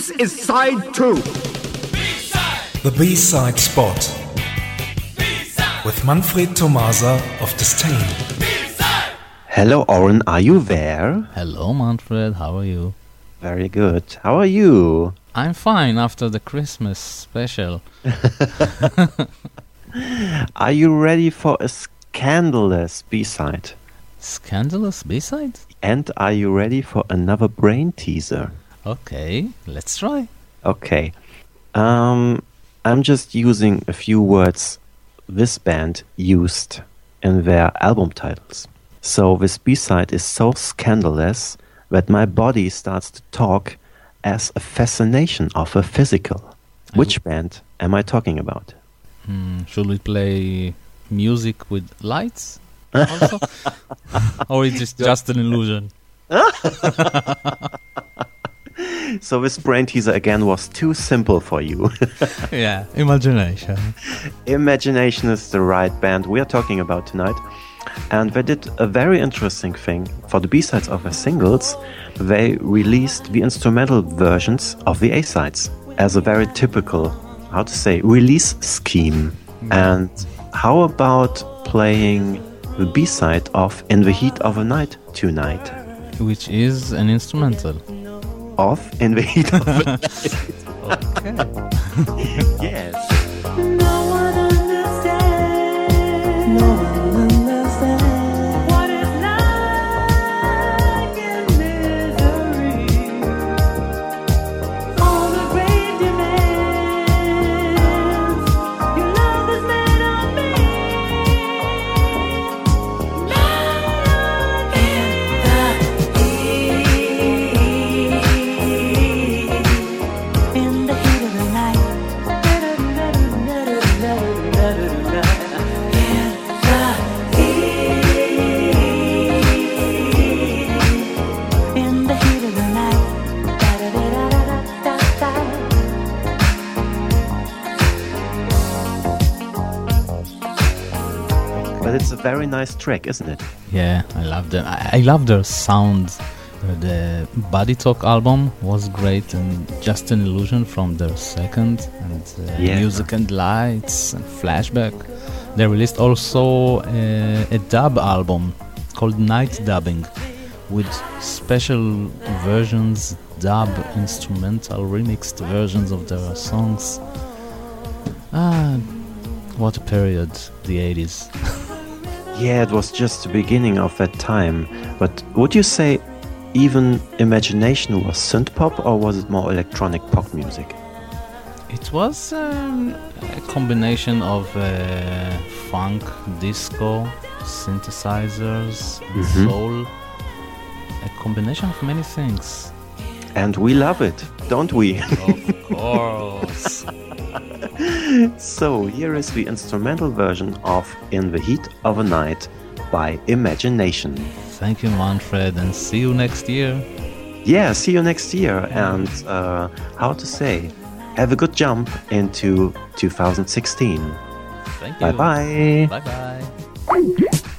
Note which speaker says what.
Speaker 1: This is side 2.
Speaker 2: The B-side spot. With Manfred Tomasa of Disdain.
Speaker 3: Hello, Oren, are you there?
Speaker 4: Hello, Manfred. How are you?
Speaker 3: Very good. How are you?
Speaker 4: I'm fine after the Christmas special.
Speaker 3: Are you ready for a scandalous B-side?
Speaker 4: Scandalous B-side?
Speaker 3: And are you ready for another brain teaser?
Speaker 4: Okay, let's try.
Speaker 3: Okay. I'm just using a few words this band used in their album titles. So this B-side is so scandalous that my body starts to talk as a fascination of a physical. Which band am I talking about?
Speaker 4: Should we play music with lights also? Or is it just an illusion?
Speaker 3: So this brain teaser again was too simple for you.
Speaker 4: Yeah, imagination.
Speaker 3: Imagination is the right band we are talking about tonight. And they did a very interesting thing. For the B-sides of their singles, they released the instrumental versions of the A-sides as a very typical, release scheme. And how about playing the B-side of In the Heat of the Night tonight?
Speaker 4: Which is an instrumental.
Speaker 3: Of In the Heat of the Night.
Speaker 4: Okay.
Speaker 3: Yes.
Speaker 5: No one understands. No one understands what it's like in misery. All the great demands. Your love is made of me. In the heat of the night. In the heat of the night.
Speaker 3: But it's a very nice track, isn't it?
Speaker 4: Yeah, I love them. I love their sound. The Body Talk album was great, and Just an Illusion from their second, and
Speaker 3: Yeah.
Speaker 4: Music and Lights and Flashback. They released also a dub album called Night Dubbing with special versions, dub, instrumental, remixed versions of their songs. What a period, the 80s.
Speaker 3: Yeah, it was just the beginning of that time. But would you say even Imagination was synth pop, or was it more electronic pop music?
Speaker 4: It was a combination of funk, disco, synthesizers, and soul. A combination of many things.
Speaker 3: And we love it, don't we?
Speaker 4: Of course.
Speaker 3: So here is the instrumental version of In the Heat of a Night by Imagination.
Speaker 4: Thank you, Manfred, and see you next year.
Speaker 3: Yeah, see you next year, and have a good jump into 2016.
Speaker 4: Thank you.
Speaker 3: Bye-bye.
Speaker 4: Bye-bye.